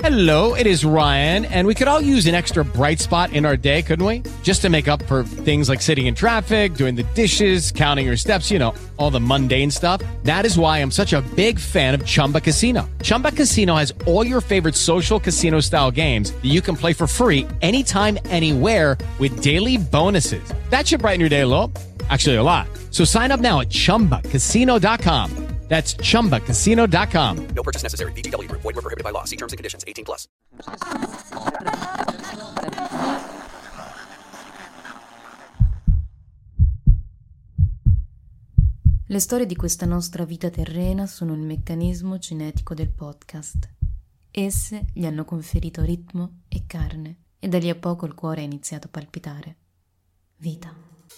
Hello, it is Ryan, and we could all use an extra bright spot in our day, couldn't we? Just to make up for things like sitting in traffic, doing the dishes, counting your steps, you know, all the mundane stuff. That is why I'm such a big fan of Chumba Casino. Chumba Casino has all your favorite social casino-style games that you can play for free anytime, anywhere with daily bonuses. That should brighten your day a little. Actually, a lot. So sign up now at ChumbaCasino.com. That's ChumbaCasino.com. No purchase necessary. VGW Group. Void where prohibited by law. See terms and conditions. 18+. Le storie di questa nostra vita terrena sono il meccanismo cinetico del podcast. Esse gli hanno conferito ritmo e carne, e da lì a poco il cuore ha iniziato a palpitare. Vita.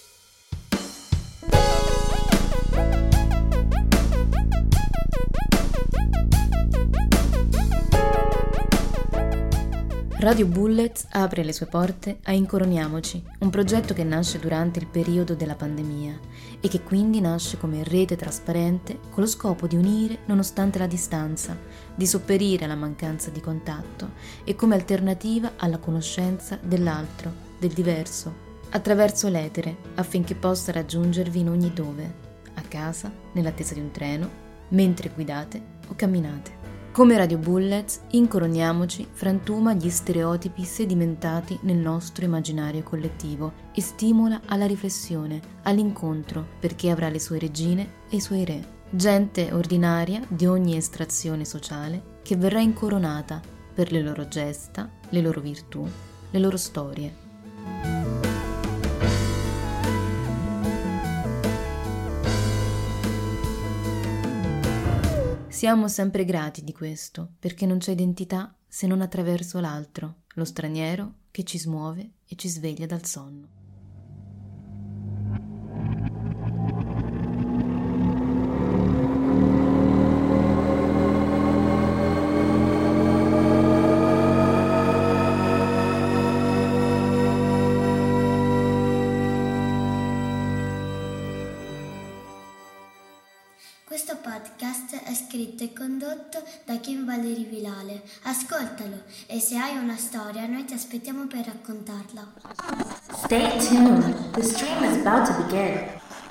Radio Bullets apre le sue porte a Incoroniamoci, un progetto che nasce durante il periodo della pandemia e che quindi nasce come rete trasparente con lo scopo di unire nonostante la distanza, di sopperire alla mancanza di contatto e come alternativa alla conoscenza dell'altro, del diverso, attraverso l'etere affinché possa raggiungervi in ogni dove, a casa, nell'attesa di un treno, mentre guidate o camminate. Come Radio Bullets, Incoroniamoci frantuma gli stereotipi sedimentati nel nostro immaginario collettivo e stimola alla riflessione, all'incontro, perché avrà le sue regine e i suoi re. Gente ordinaria di ogni estrazione sociale che verrà incoronata per le loro gesta, le loro virtù, le loro storie. Siamo sempre grati di questo, perché non c'è identità se non attraverso l'altro, lo straniero che ci smuove e ci sveglia dal sonno. Questo podcast è scritto e condotto da Kim Valeri Vilale. Ascoltalo e se hai una storia noi ti aspettiamo per raccontarla. Stay tuned. The stream is about to begin.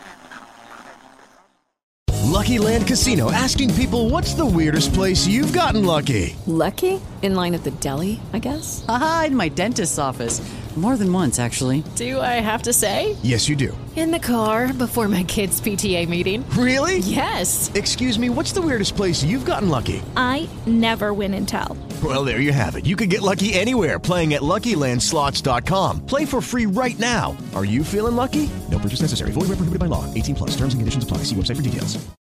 Lucky Land Casino, asking people, what's the weirdest place you've gotten lucky? Lucky? In line at the deli, I guess? Aha, in my dentist's office. More than once, actually. Do I have to say? Yes, you do. In the car before my kids' PTA meeting. Really? Yes. Excuse me, what's the weirdest place you've gotten lucky? I never win and tell. Well, there you have it. You can get lucky anywhere, playing at LuckyLandSlots.com. Play for free right now. Are you feeling lucky? No purchase necessary. Void where prohibited by law. 18+. Terms and conditions apply. See website for details.